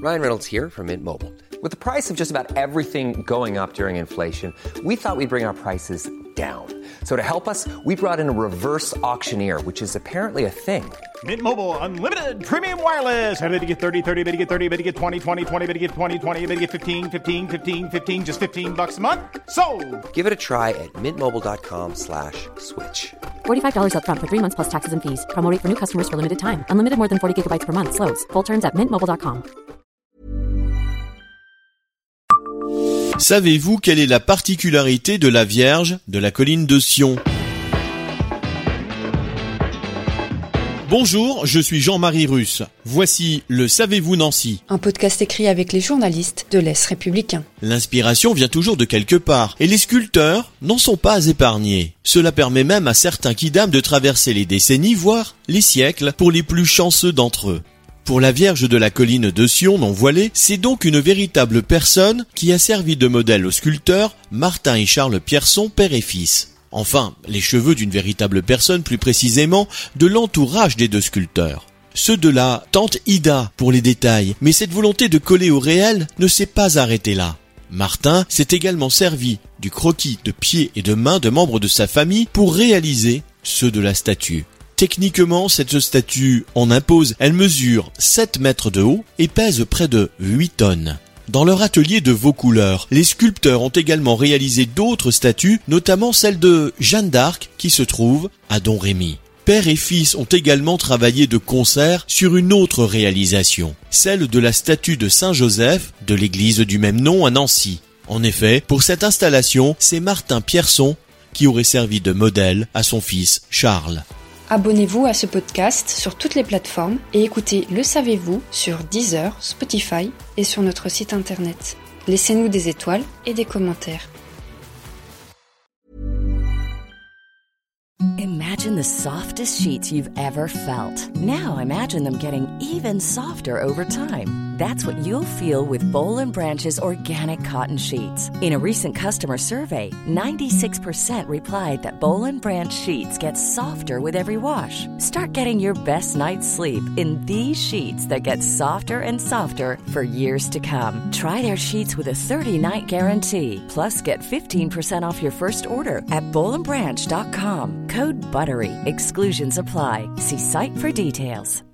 Ryan Reynolds here from Mint Mobile. With the price of just about everything going up during inflation, we thought we'd bring our prices down. So to help us, we brought in a reverse auctioneer, which is apparently a thing. Mint Mobile Unlimited Premium Wireless. How to get 30, 30, bit to get 30, bit to get 20, 20, 20, bit to get 20, 20, bit to get 15, 15, 15, 15, just $15 a month? Sold! Give it a try at mintmobile.com/switch. $45 up front for 3 months plus taxes and fees. Promo rate for new customers for limited time. Unlimited more than 40 gigabytes per month. Slows full terms at mintmobile.com. Savez-vous quelle est la particularité de la Vierge de la colline de Sion ? Bonjour, je suis Jean-Marie Russe. Voici le Savez-vous Nancy ? Un podcast écrit avec les journalistes de l'Est républicain. L'inspiration vient toujours de quelque part, et les sculpteurs n'en sont pas épargnés. Cela permet même à certains kidams de traverser les décennies, voire les siècles, pour les plus chanceux d'entre eux. Pour la Vierge de la colline de Sion non voilée, c'est donc une véritable personne qui a servi de modèle aux sculpteurs Martin et Charles Pierson, père et fils. Enfin, les cheveux d'une véritable personne, plus précisément, de l'entourage des deux sculpteurs. Ceux de la tante Ida pour les détails, mais cette volonté de coller au réel ne s'est pas arrêtée là. Martin s'est également servi du croquis de pieds et de mains de membres de sa famille pour réaliser ceux de la statue. Techniquement, cette statue en impose. Elle mesure 7 mètres de haut et pèse près de 8 tonnes. Dans leur atelier de Vaucouleurs, les sculpteurs ont également réalisé d'autres statues, notamment celle de Jeanne d'Arc qui se trouve à Domrémy. Père et fils ont également travaillé de concert sur une autre réalisation, celle de la statue de Saint-Joseph de l'église du même nom à Nancy. En effet, pour cette installation, c'est Martin Pierson qui aurait servi de modèle à son fils Charles. Abonnez-vous à ce podcast sur toutes les plateformes et écoutez Le Savez-vous sur Deezer, Spotify et sur notre site internet. Laissez-nous des étoiles et des commentaires. Imagine the softest sheets you've ever felt. Now imagine them getting even softer over time. That's what you'll feel with Boll & Branch's organic cotton sheets. In a recent customer survey, 96% replied that Boll & Branch sheets get softer with every wash. Start getting your best night's sleep in these sheets that get softer and softer for years to come. Try their sheets with a 30-night guarantee. Plus, get 15% off your first order at bollandbranch.com. Code BUTTERY. Exclusions apply. See site for details.